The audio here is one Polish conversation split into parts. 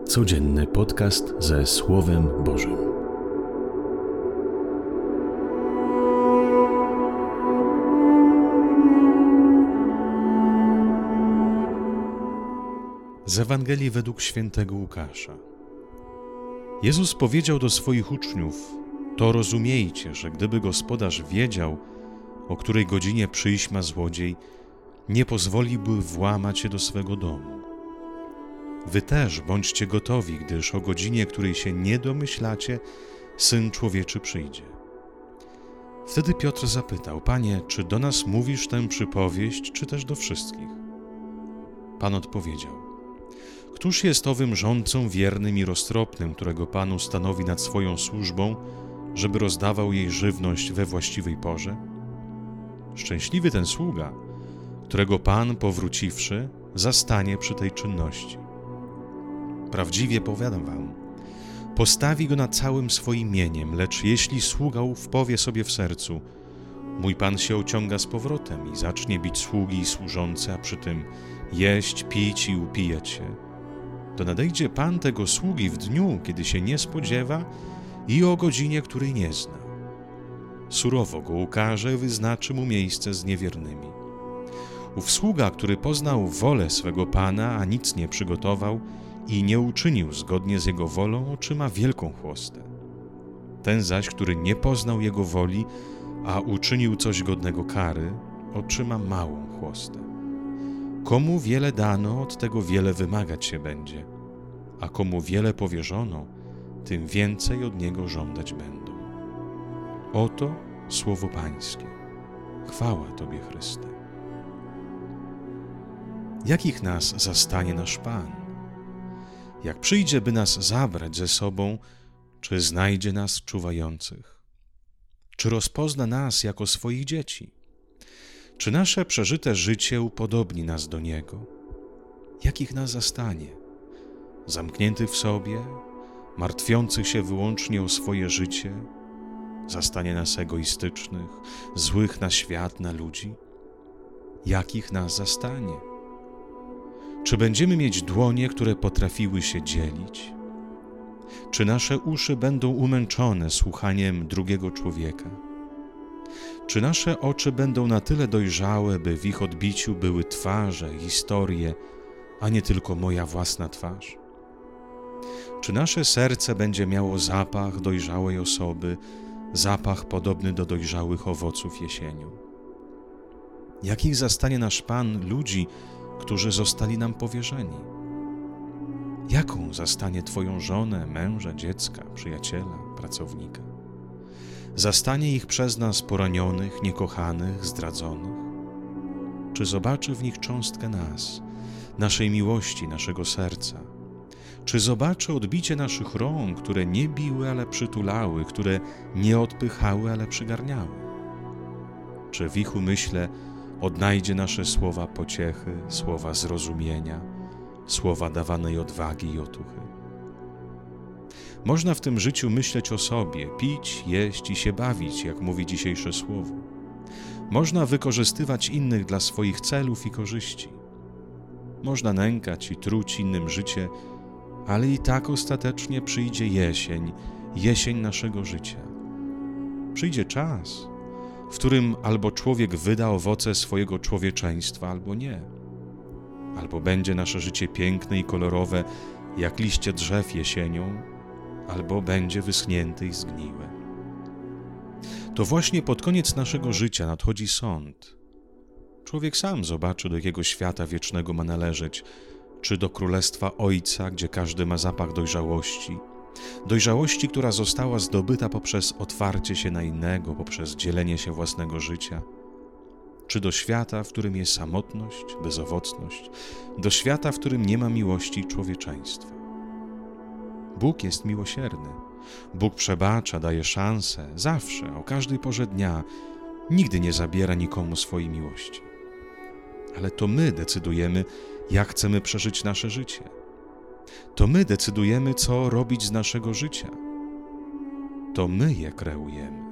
Codzienny podcast ze Słowem Bożym. Z Ewangelii według świętego Łukasza. Jezus powiedział do swoich uczniów: to rozumiejcie, że gdyby gospodarz wiedział, o której godzinie przyjść ma złodziej, nie pozwoliłby włamać się do swego domu. Wy też bądźcie gotowi, gdyż o godzinie, której się nie domyślacie, Syn Człowieczy przyjdzie. Wtedy Piotr zapytał: Panie, czy do nas mówisz tę przypowieść, czy też do wszystkich? Pan odpowiedział: Któż jest owym rządcą wiernym i roztropnym, którego Pan ustanowi nad swoją służbą, żeby rozdawał jej żywność we właściwej porze? Szczęśliwy ten sługa, którego Pan, powróciwszy, zastanie przy tej czynności. Prawdziwie powiadam wam, postawi go nad całym swoim mieniem, lecz jeśli sługa ów powie sobie w sercu: mój Pan się ociąga z powrotem i zacznie bić sługi i służące, a przy tym jeść, pić i upijać się, to nadejdzie Pan tego sługi w dniu, kiedy się nie spodziewa i o godzinie, której nie zna. Surowo go ukarze, wyznaczy mu miejsce z niewiernymi. Ów sługa, który poznał wolę swego Pana, a nic nie przygotował i nie uczynił zgodnie z jego wolą, otrzyma wielką chłostę. Ten zaś, który nie poznał jego woli, a uczynił coś godnego kary, otrzyma małą chłostę. Komu wiele dano, od tego wiele wymagać się będzie, a komu wiele powierzono, tym więcej od niego żądać będą. Oto słowo Pańskie. Chwała Tobie, Chryste. Jakich nas zastanie nasz Pan? Jak przyjdzie, by nas zabrać ze sobą, czy znajdzie nas czuwających? Czy rozpozna nas jako swoich dzieci? Czy nasze przeżyte życie upodobni nas do Niego? Jakich nas zastanie? Zamkniętych w sobie, martwiących się wyłącznie o swoje życie? Zastanie nas egoistycznych, złych na świat, na ludzi? Jakich nas zastanie? Czy będziemy mieć dłonie, które potrafiły się dzielić? Czy nasze uszy będą umęczone słuchaniem drugiego człowieka? Czy nasze oczy będą na tyle dojrzałe, by w ich odbiciu były twarze, historie, a nie tylko moja własna twarz? Czy nasze serce będzie miało zapach dojrzałej osoby, zapach podobny do dojrzałych owoców jesienią? Jakich zastanie nasz Pan ludzi, którzy zostali nam powierzeni? Jaką zastanie Twoją żonę, męża, dziecka, przyjaciela, pracownika? Zastanie ich przez nas poranionych, niekochanych, zdradzonych? Czy zobaczy w nich cząstkę nas, naszej miłości, naszego serca? Czy zobaczy odbicie naszych rąk, które nie biły, ale przytulały, które nie odpychały, ale przygarniały? Czy w ich umyśle odnajdzie nasze słowa pociechy, słowa zrozumienia, słowa dawanej odwagi i otuchy? Można w tym życiu myśleć o sobie, pić, jeść i się bawić, jak mówi dzisiejsze słowo. Można wykorzystywać innych dla swoich celów i korzyści. Można nękać i truć innym życie, ale i tak ostatecznie przyjdzie jesień naszego życia. Przyjdzie czas, w którym albo człowiek wyda owoce swojego człowieczeństwa, albo nie. Albo będzie nasze życie piękne i kolorowe, jak liście drzew jesienią, albo będzie wyschnięte i zgniłe. To właśnie pod koniec naszego życia nadchodzi sąd. Człowiek sam zobaczy, do jakiego świata wiecznego ma należeć, czy do królestwa Ojca, gdzie każdy ma zapach dojrzałości, która została zdobyta poprzez otwarcie się na innego, poprzez dzielenie się własnego życia, czy do świata, w którym jest samotność, bezowocność, do świata, w którym nie ma miłości i człowieczeństwa. Bóg jest miłosierny. Bóg przebacza, daje szansę, zawsze, o każdej porze dnia, nigdy nie zabiera nikomu swojej miłości. Ale to my decydujemy, jak chcemy przeżyć nasze życie. To my decydujemy, co robić z naszego życia. To my je kreujemy.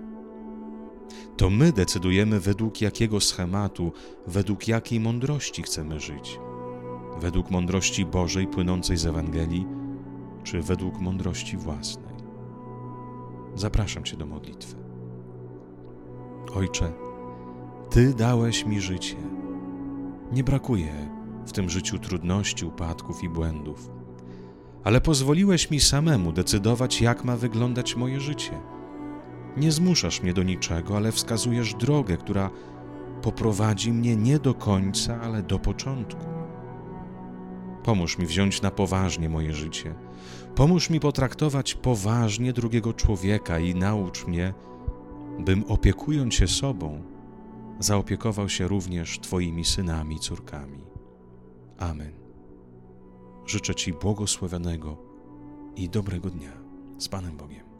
To my decydujemy, według jakiego schematu, według jakiej mądrości chcemy żyć. Według mądrości Bożej płynącej z Ewangelii, czy według mądrości własnej. Zapraszam Cię do modlitwy. Ojcze, Ty dałeś mi życie. Nie brakuje w tym życiu trudności, upadków i błędów, ale pozwoliłeś mi samemu decydować, jak ma wyglądać moje życie. Nie zmuszasz mnie do niczego, ale wskazujesz drogę, która poprowadzi mnie nie do końca, ale do początku. Pomóż mi wziąć na poważnie moje życie. Pomóż mi potraktować poważnie drugiego człowieka i naucz mnie, bym opiekując się sobą, zaopiekował się również Twoimi synami i córkami. Amen. Życzę Ci błogosławionego i dobrego dnia. Z Panem Bogiem.